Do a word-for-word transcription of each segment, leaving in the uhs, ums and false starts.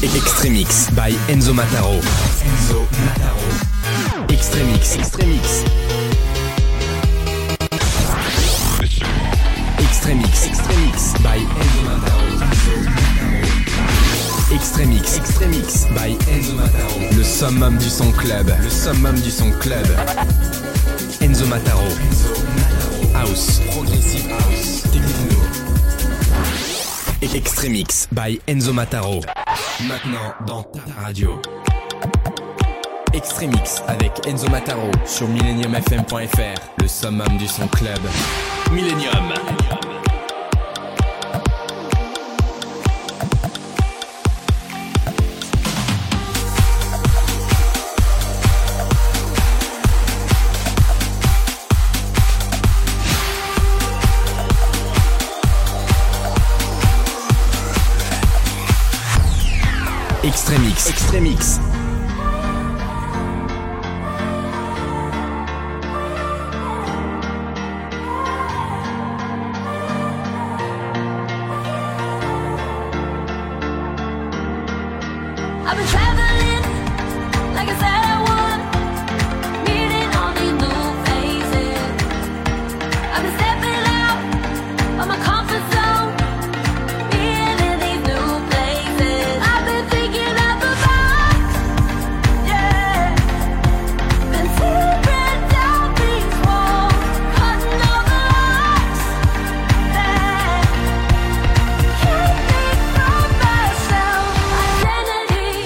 Extremix by Enzo Mataro. Enzo Mataro. Extremix. Extremix. Extremix. Extremix by Enzo Mataro. Extremix. Extremix by Enzo Mataro. Le summum du son club. Le summum du son club. Enzo Mataro. Enzo Mataro. House. Progressive house. Techno. Extremix by Enzo Mataro. Maintenant dans ta radio. Extremix avec Enzo Mataro sur millennium f m point f r. Le summum du son club. Millennium. Extremix. Extremix. I've been traveling, like I said I would, meeting all these new faces. I've been stepping out of my comfort zone, being in these new places. I've been thinking out the box, yeah. Been tearing down these walls, cutting all the locks that keep me from myself. Identity.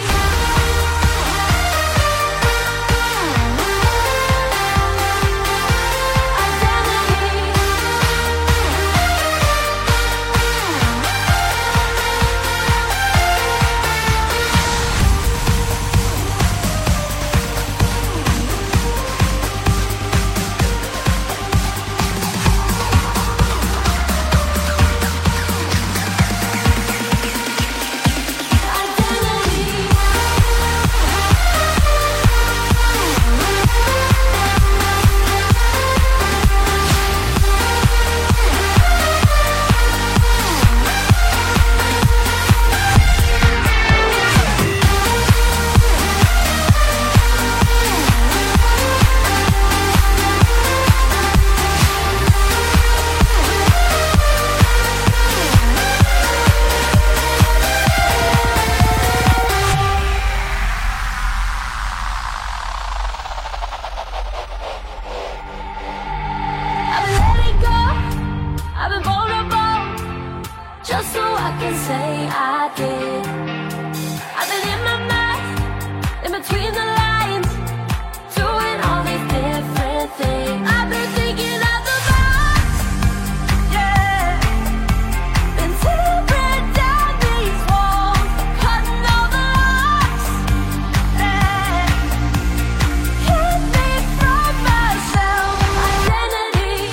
I've been letting go, I've been vulnerable, just so I can say I did. I've been in my mind, in between the lines, doing all these different things. I've been thinking out the box, yeah. Been tearing down these walls, cutting all the locks that keep me from myself. Identity.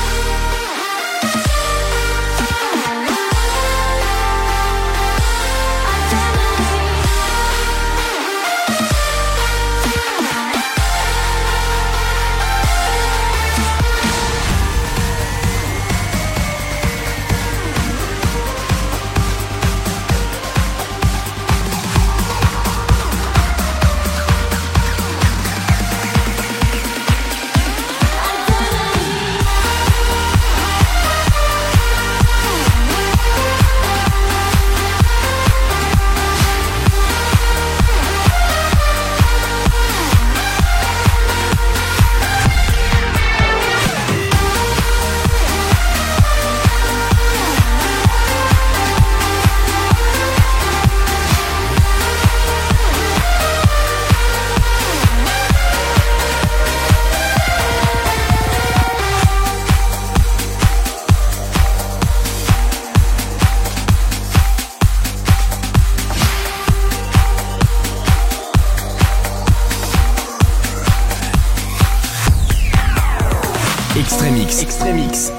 Extremix. Extremix.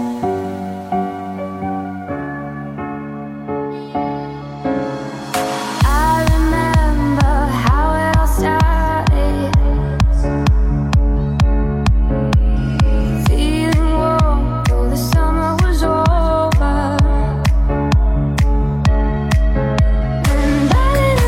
I remember how it all started. Feeling warm, though the summer was over. And I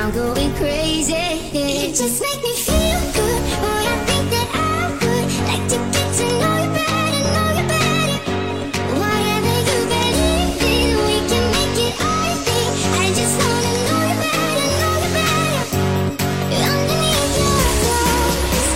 I'm going crazy. You just make me feel good. Boy, I think that I would like to get to know you better, know you better. Whatever you believe in, we can make it all thing. I just wanna know you better, know you better. Underneath your clothes.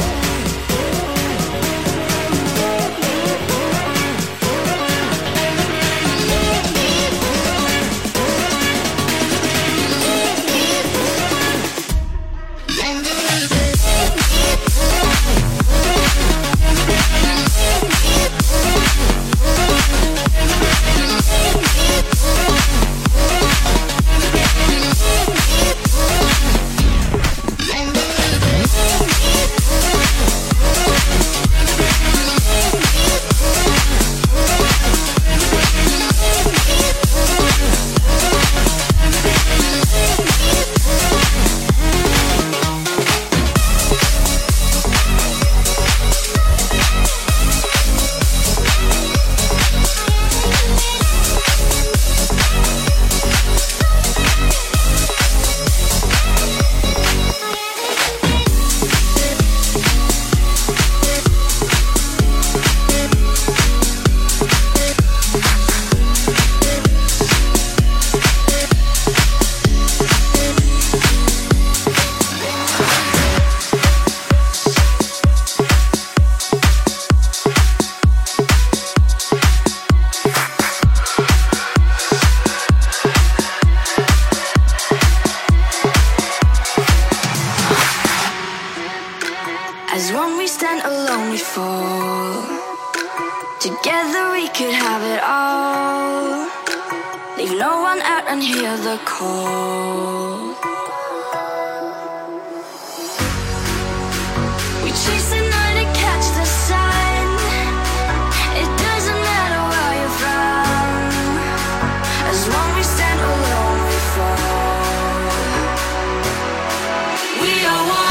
As one we stand, alone we fall. Together we could have it all. Leave no one out and hear the call. We chase the night and catch the sun. It doesn't matter where you're from. As one we stand, alone we fall. We are one.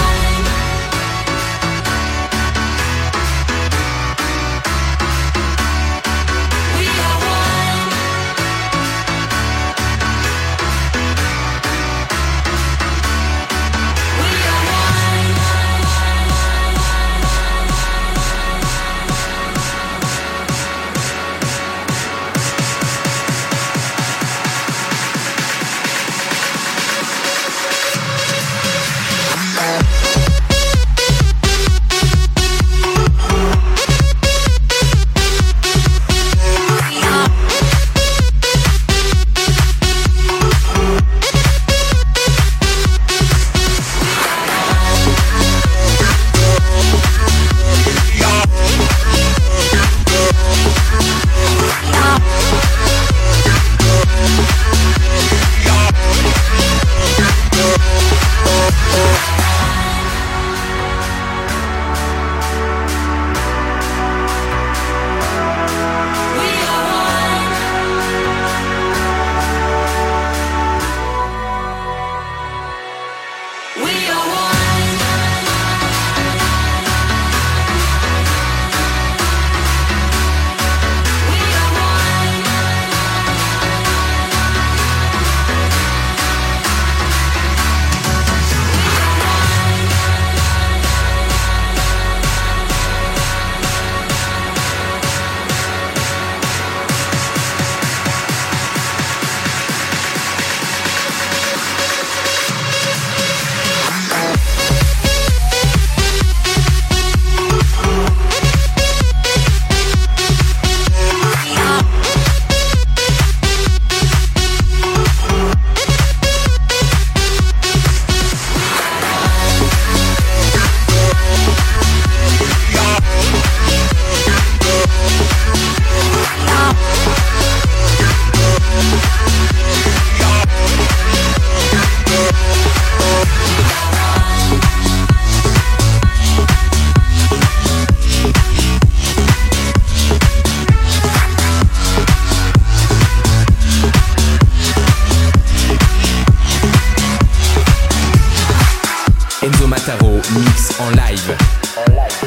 Mix en live. En live.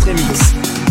Remix.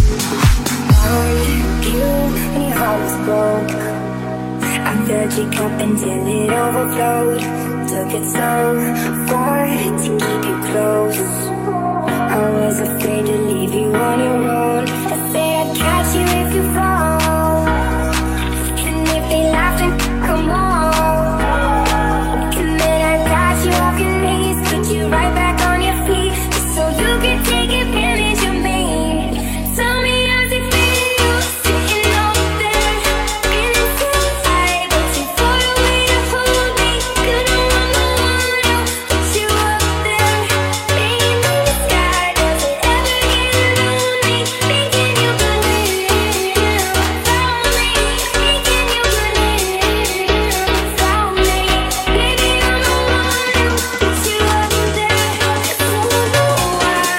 I filled your cup until it overflowed. Took it so far to keep you close. I was afraid to leave you on your own. I said I'd catch you if you fall. And if they laugh, then come on. And then I got you off your knees, put you right back on your feet, just so you could take advantage of me. Tell me how's it feel, sitting up there, feeling so high, but too far away to hold me. Could I want the one who put you up there, laying in the sky? Does it ever get lonely, thinking you could live without me? Thinking you could live without me? Baby, I'm the one who put you up there. I don't know why.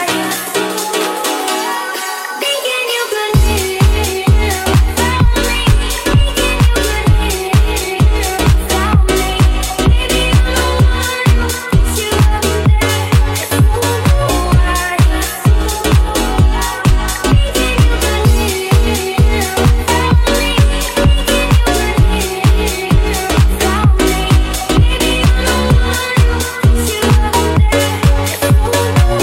Thinking you could live without me. Thinking you could live without me. Baby, I'm the one who put you up there. I don't know why. Thinking you could live without me. Thinking you could live without me. Baby, I'm the one who put you up there. I don't know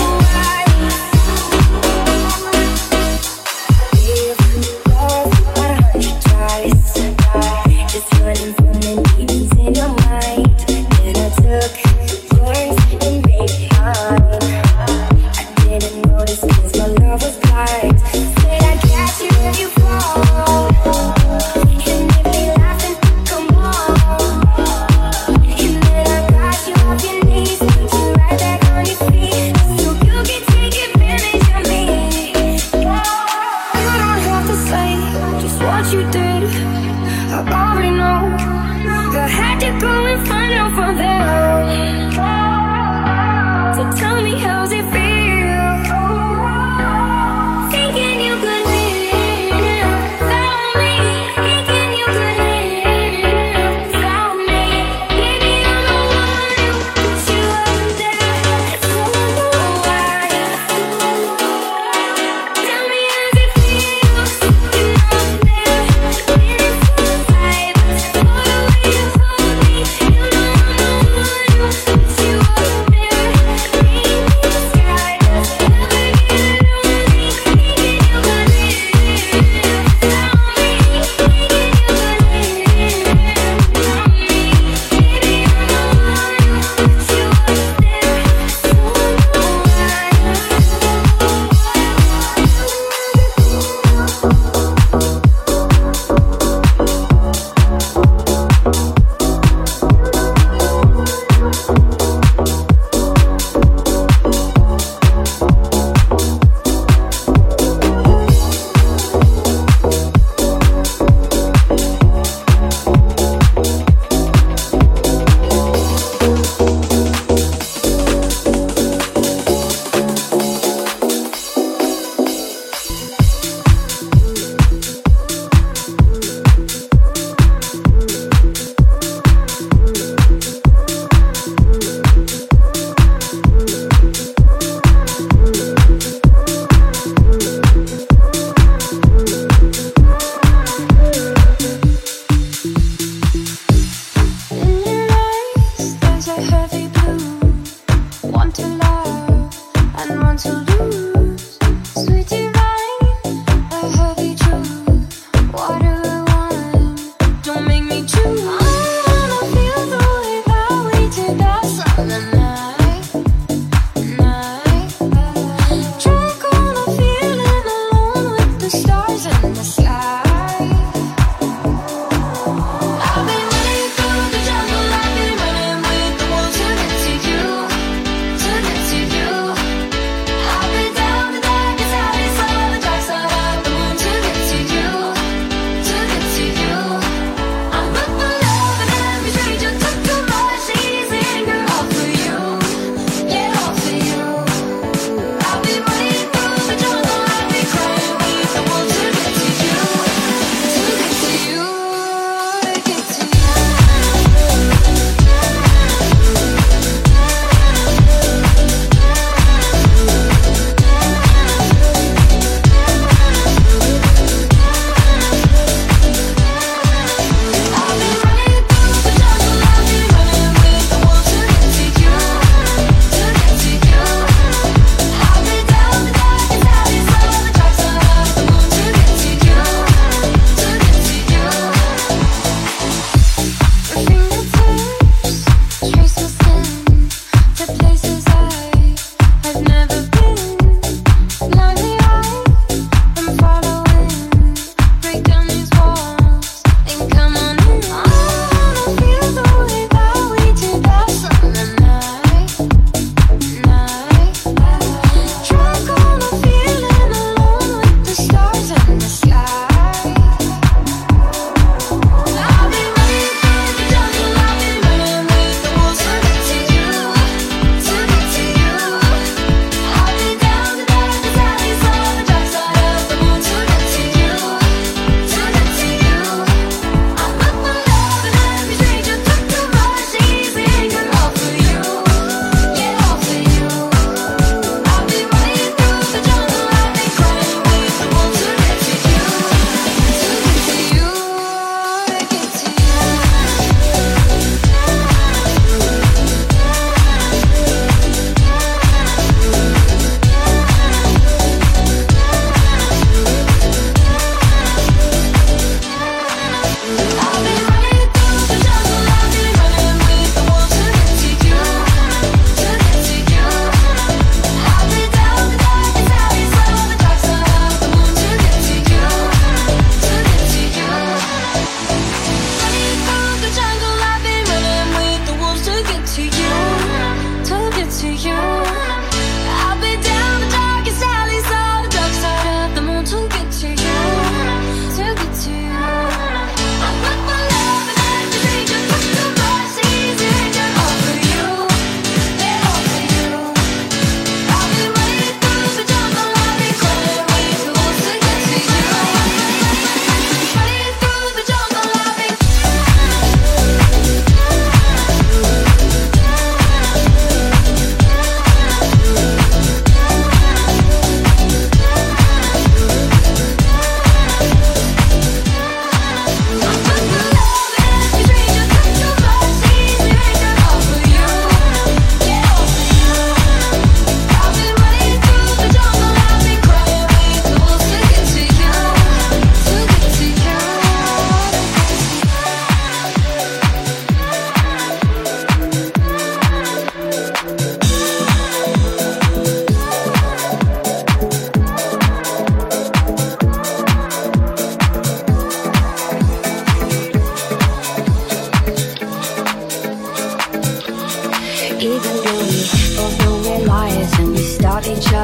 why. We've lost about a hundred tries, just running from the demons in your mind. Then I took yours and made mine. I didn't notice 'cause my love was blind. Said I'd catch you if you fall. And if they laugh, then come on. And then I got you off your knees, put you right back on your feet, so you can take advantage of me. You don't have to say just what you did, I already know. I had to go and find out from them. So tell me how's it feel, thinking you could live without me. Thinking you could live without me. Baby, I'm the one who put you up there. I don't know why. Tell me how's it feel, sitting up there, feeling so high, but too far away to hold me. You know I'm the one who put you up there, laying in the sky.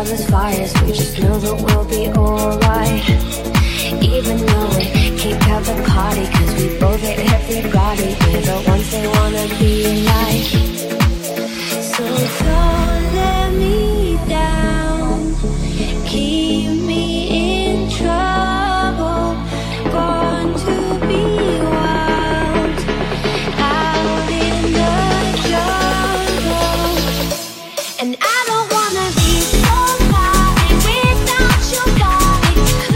endless fires, we just know that we'll be alright. Even though we kick out the party, cause we both hate everybody. We're the ones they wanna be like. So don't let me down, keep me in trouble. Born to be wild, out in the jungle. And I don't wanna be somebody without your body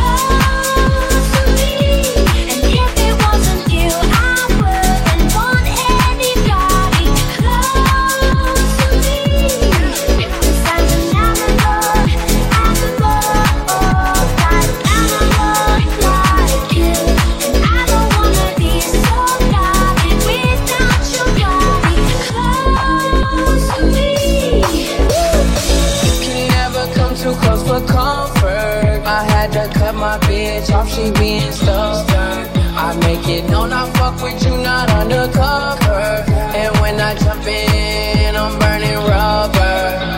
close to me. And if it wasn't you, I wouldn't want anybody close to me. Cause I'm an animal, animal, like animal like you. And I don't wanna be somebody without your body close to me. You can never come too close for comfort. I had to cut my bitch off, she being stubborn. I make it known I fuck with you, not undercover. And when I jump in, I'm burning rubber.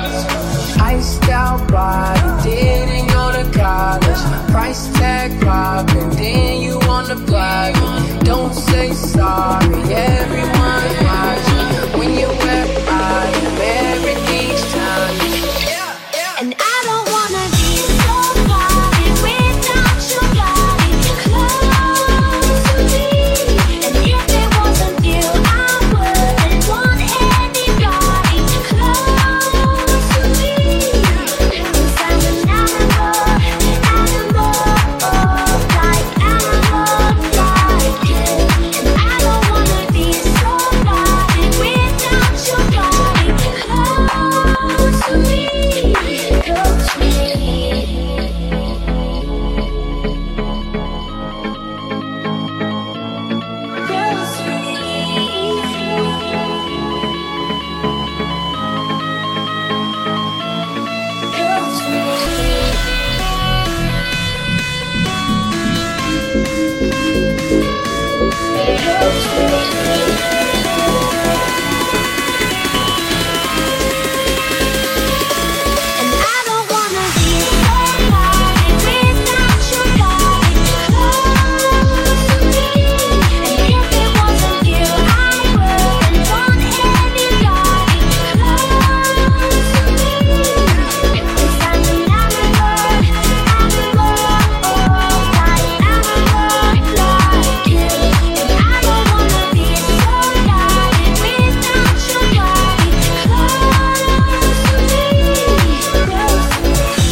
Iced out body, didn't go to college. Price tag popping, then you on the block. Don't say sorry, everyone's watching. When you wear bottom, everything's time. And I don't wanna be somebody without your body close to me. And if it wasn't you, I wouldn't want anybody close to me. Cause I'm an animal, animal, like animal like you. And I don't wanna be somebody without your body close to me. Close to me. Close to me. Close to me. Close to me. And I don't wanna be somebody without your body close to me. And if it wasn't you, I wouldn't want anybody close to me. Cause I'm an animal, animal, like animal like you. And I don't wanna be somebody without your body close to me. Close to me.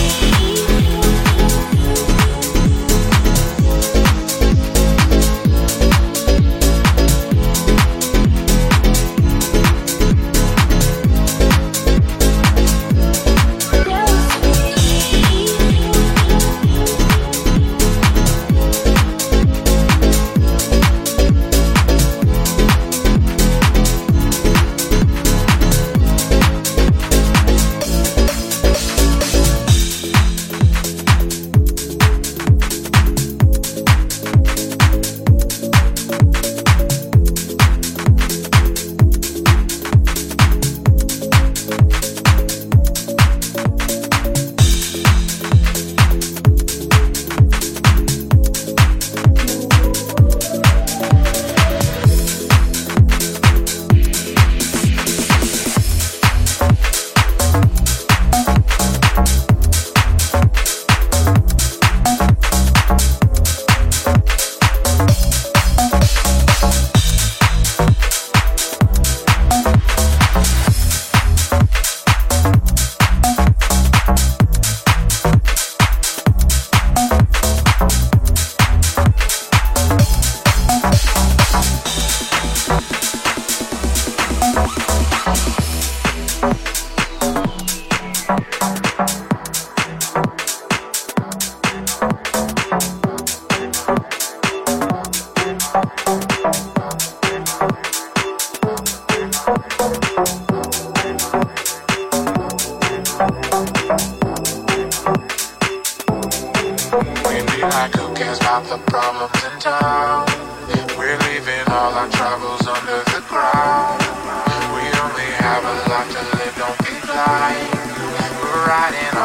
like who cares about the problems in town? We're leaving all our troubles under the ground. We only have a life to live, don't be blind. We're riding all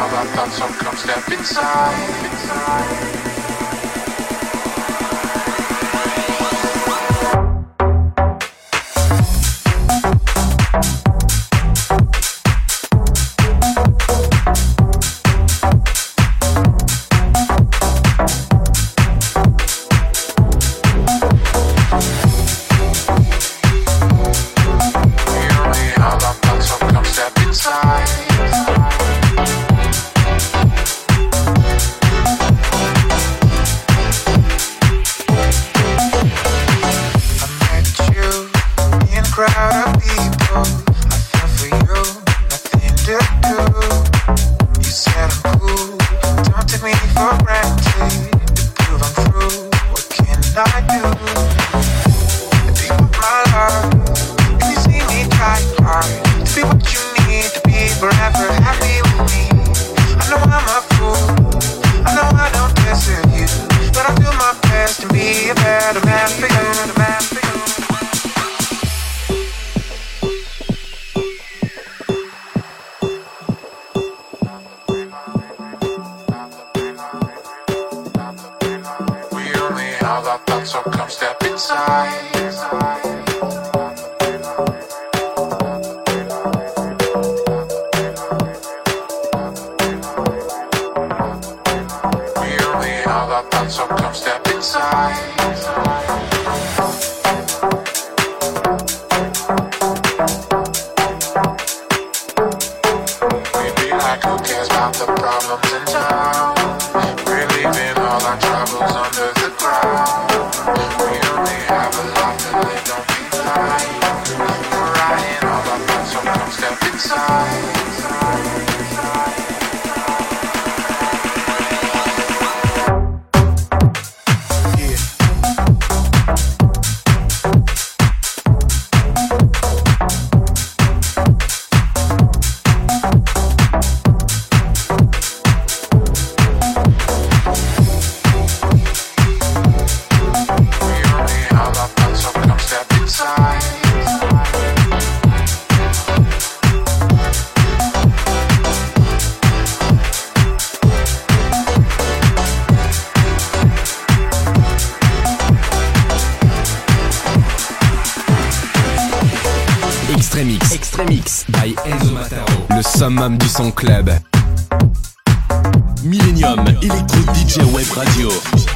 all our thoughts, so come step inside, inside. Extremix, Extremix by Enzo Mataro, le summum du son club. Millennium Electro D J Web Radio.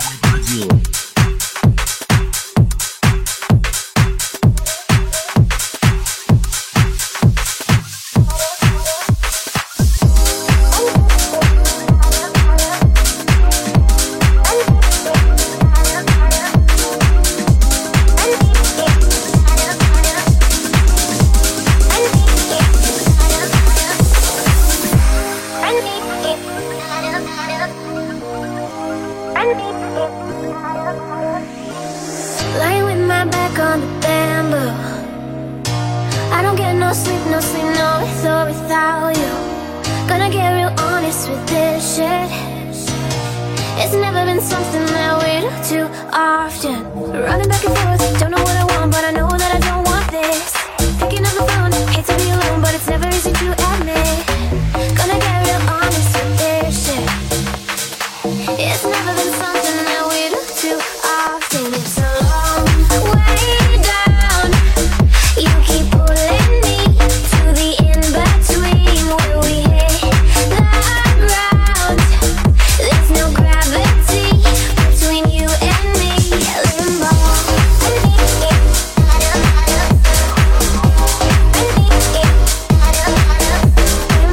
Lying with my back on the bamboo, I don't get no sleep, no sleep, no with or without you. Gonna get real honest with this shit. It's never been something that we do too often. Running back and forth, don't know what I want, but I know that I don't want this. Picking up the phone, hate to be alone, but it's never easy to admit. Gonna get real honest with this shit. It's never been something that we do too often. It's a long way down. You keep pulling me to the in-between where we hit that ground. There's no gravity between you and me. Limbo. Limbo.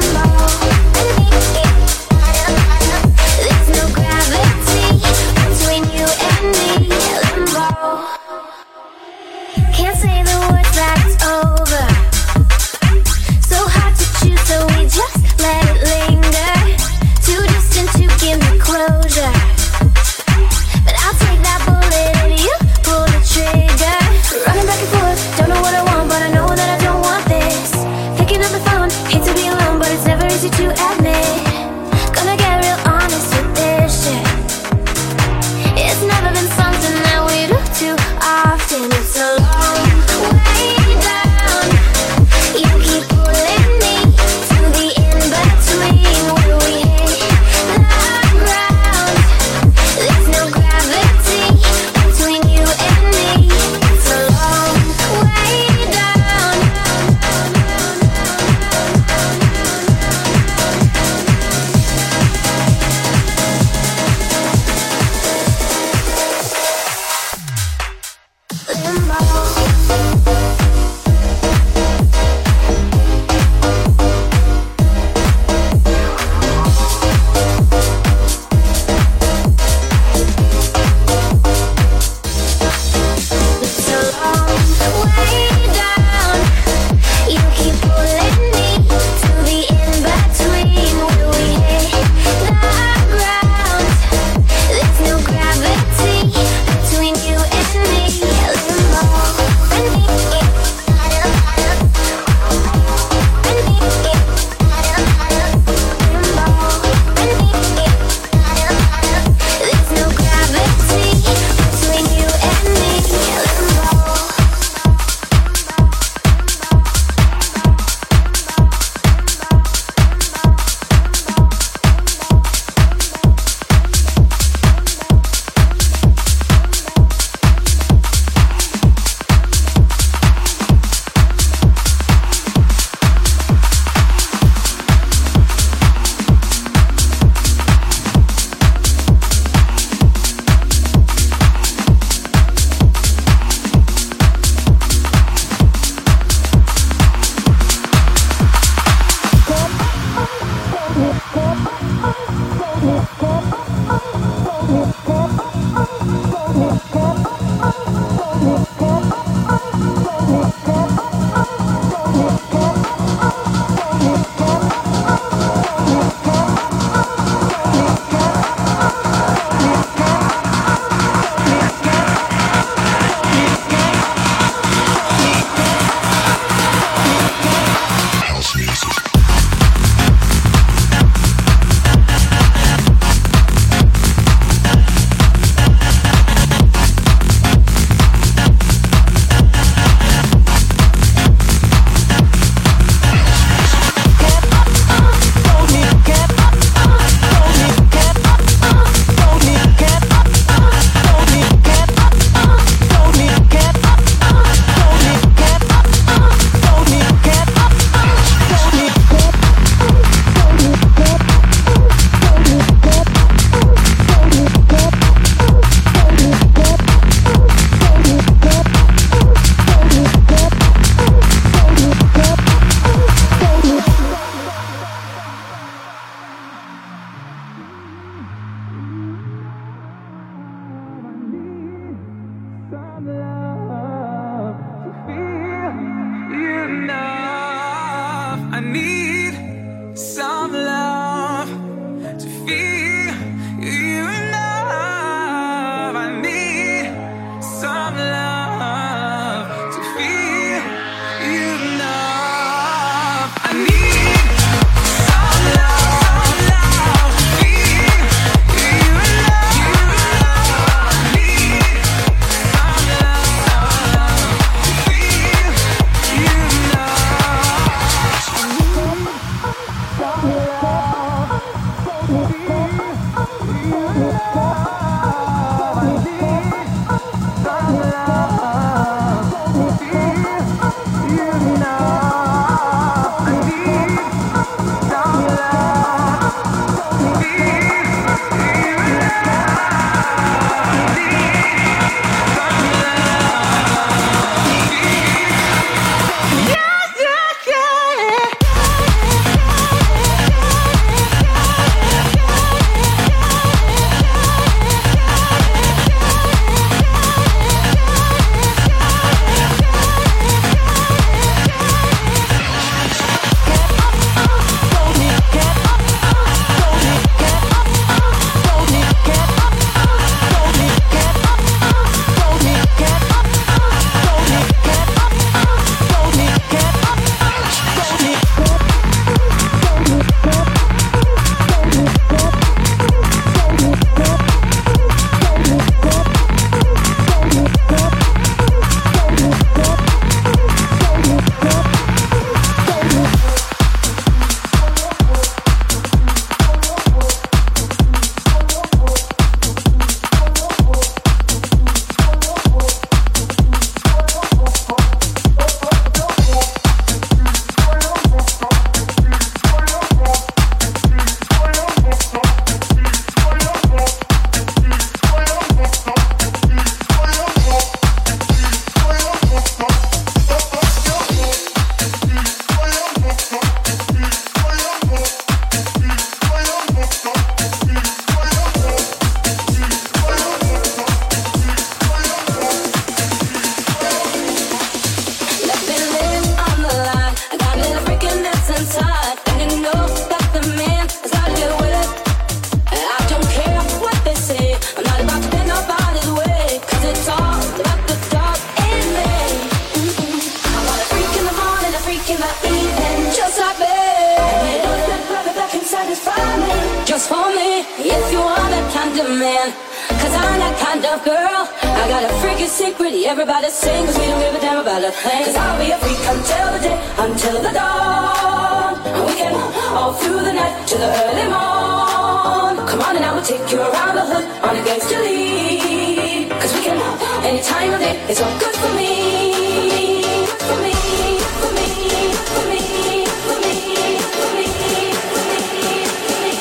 if you are that kind of man. Cause I'm that kind of girl. I got a freaking secret, everybody sing. Cause we don't give a damn about a thing. Cause I'll be a freak until the day, until the dawn. And we can all through the night to the early morn. Come on and I will take you around the hood on a gangster lead. Cause we can, any time of day, it's all good for me. Good for me, for me, for me, for me, for me, for me, for me.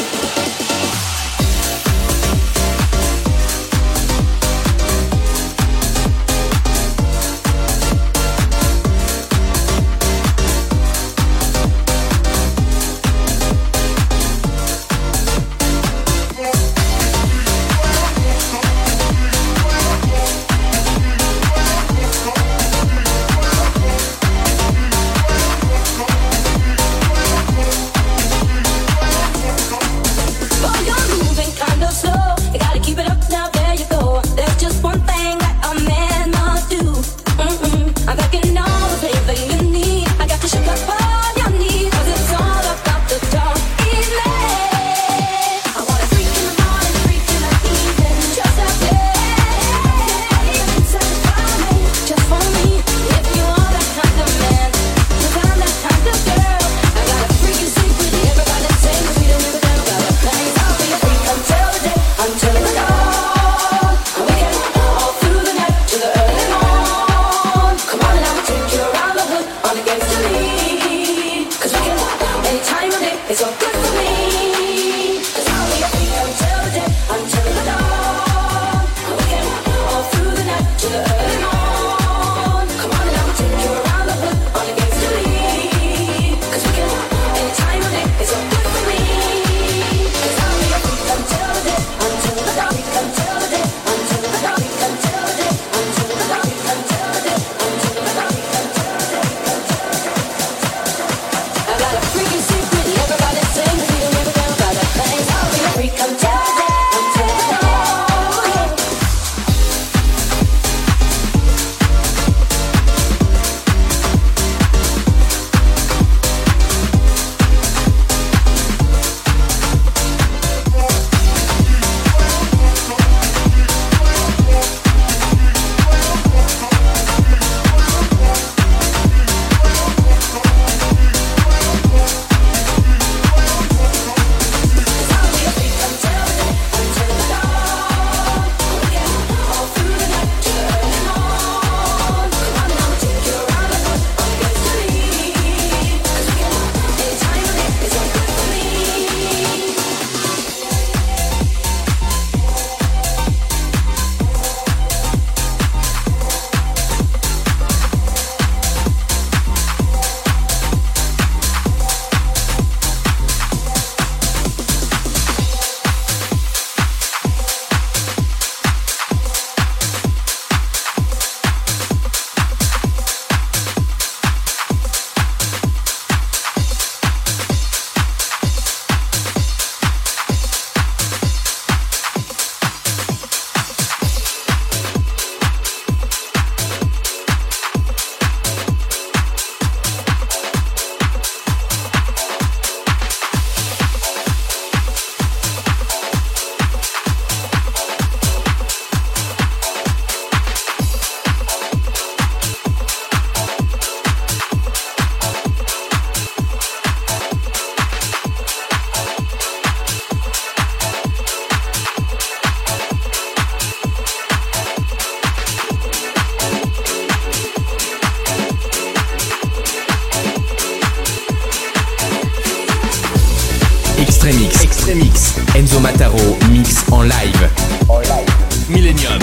Extremix, Extremix, Enzo Mataro, mix en live. En live. Millennium.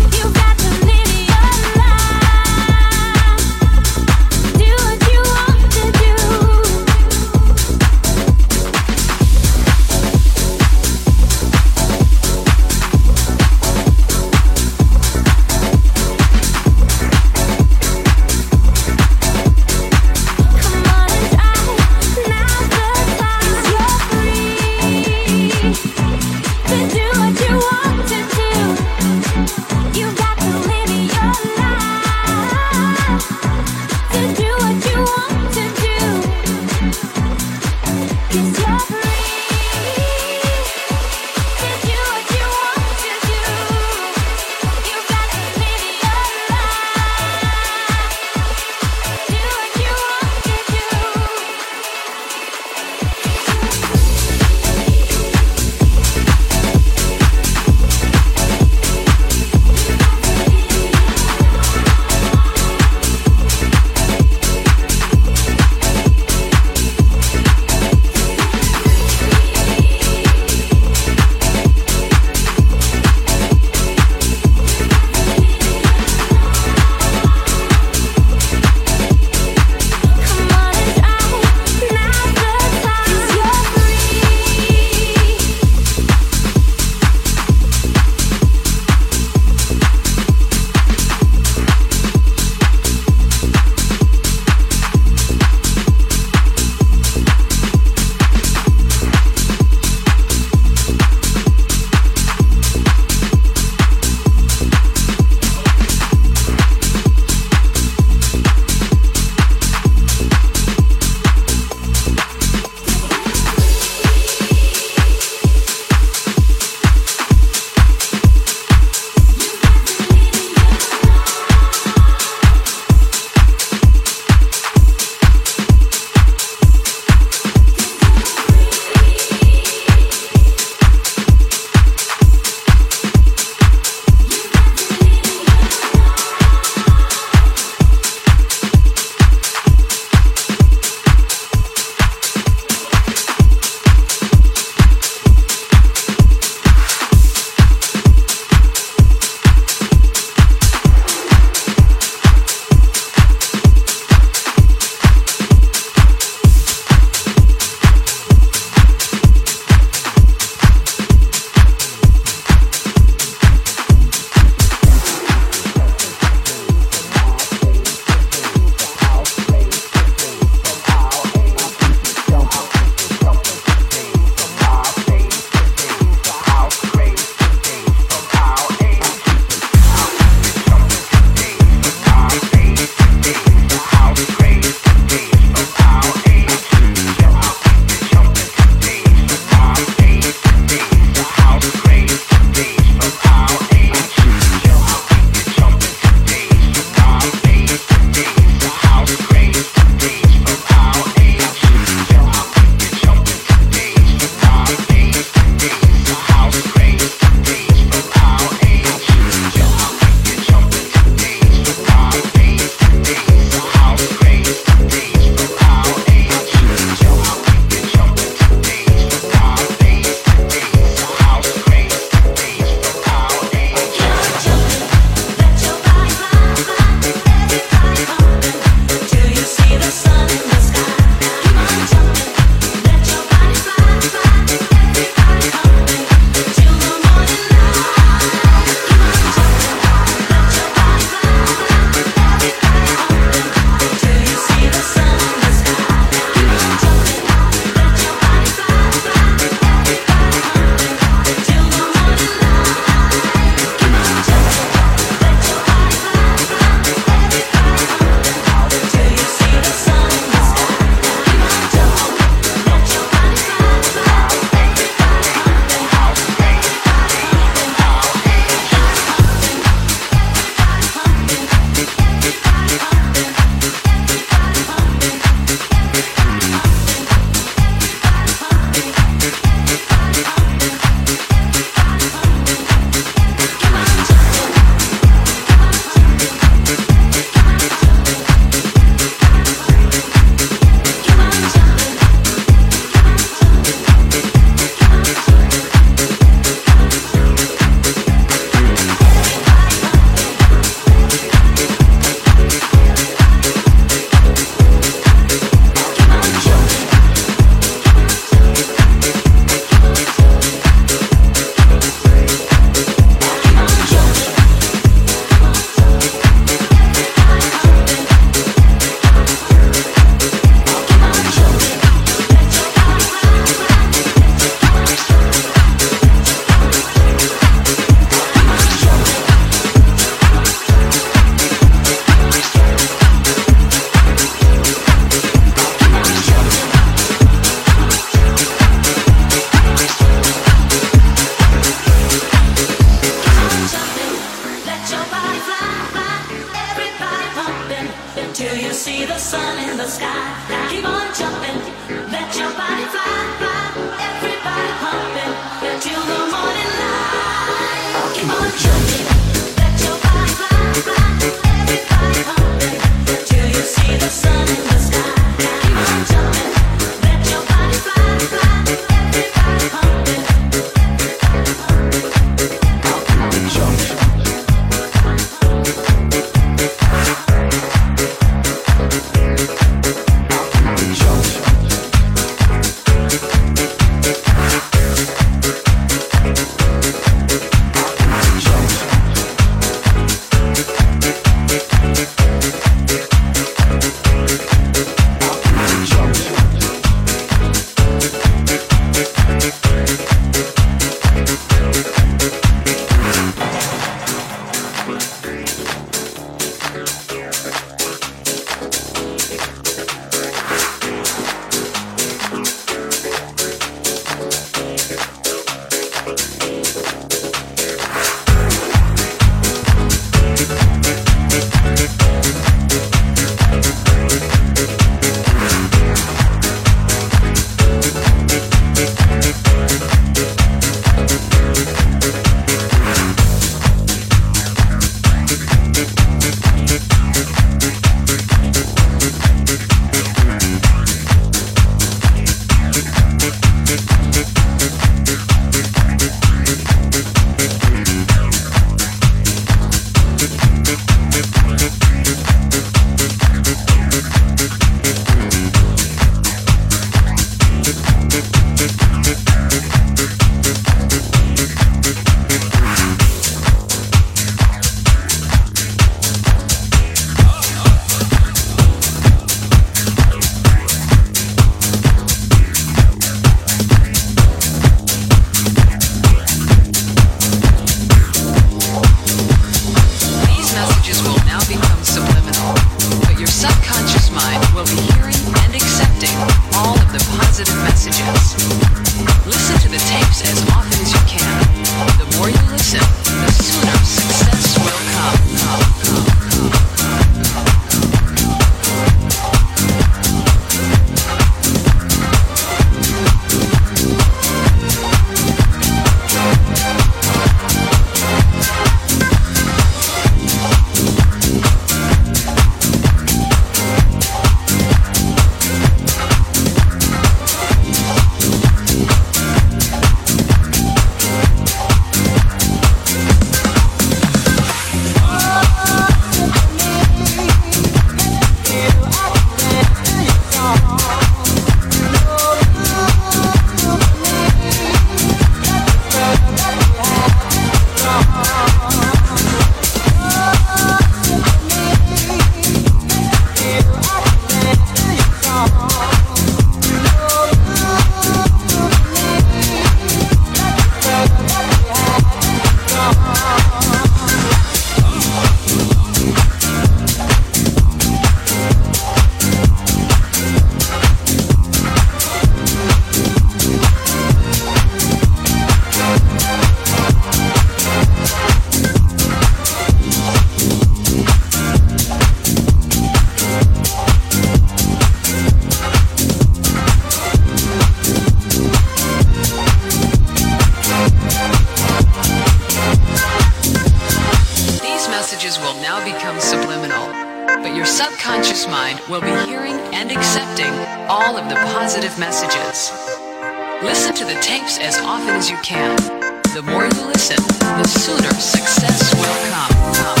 will now become subliminal, but your subconscious mind will be hearing and accepting all of the positive messages. Listen to the tapes as often as you can. The more you listen, the sooner success will come. come.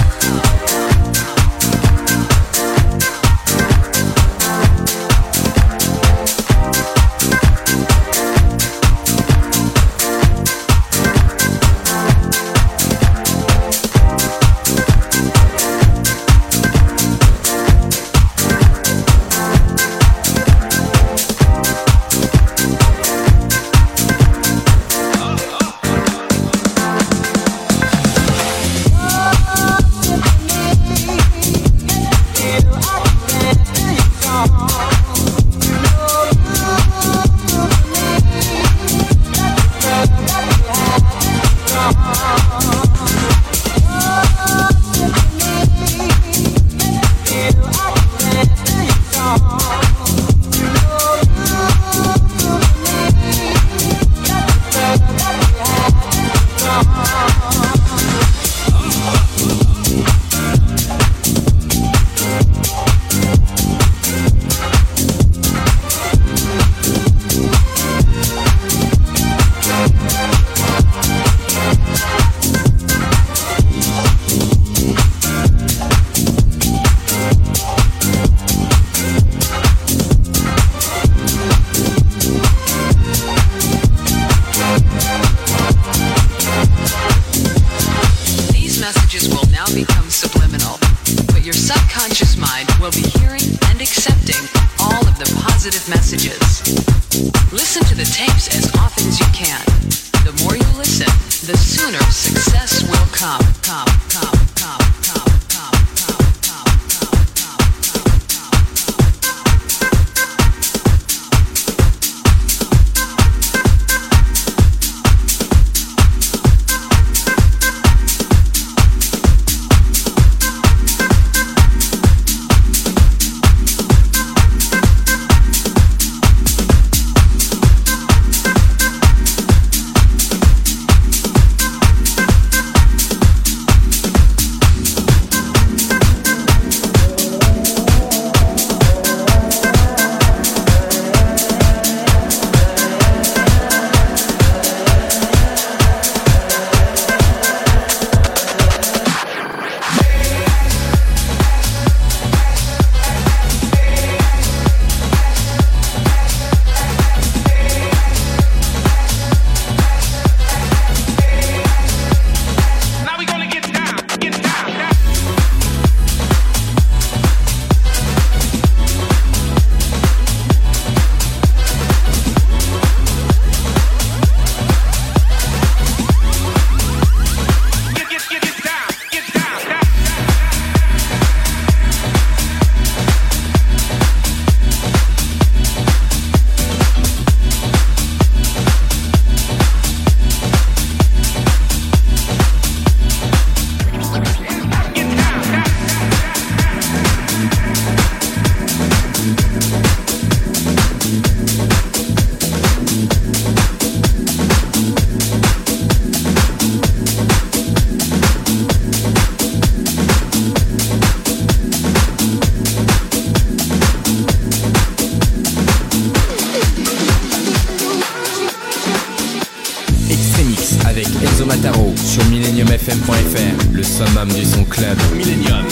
Sur millennium f m point f r, le summum du son club. Millennium.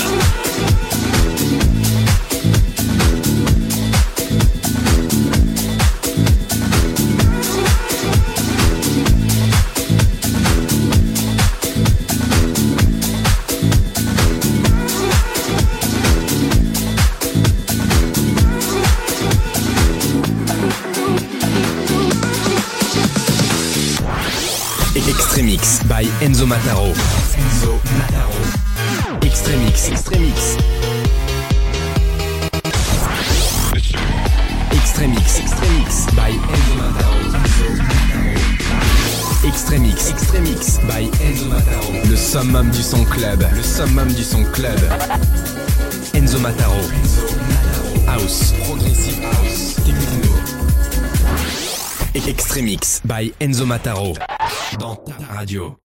Extremix by Enzo Mataro. Enzo Mataro. Extremix. Extremix. Extremix. Extremix by Enzo Mataro. Extremix. Extremix by Enzo Mataro. Le summum du son club. Le summum du son club. Enzo Mataro. House. Progressive house. Techno. Extremix by Enzo Mataro. Dans ta radio.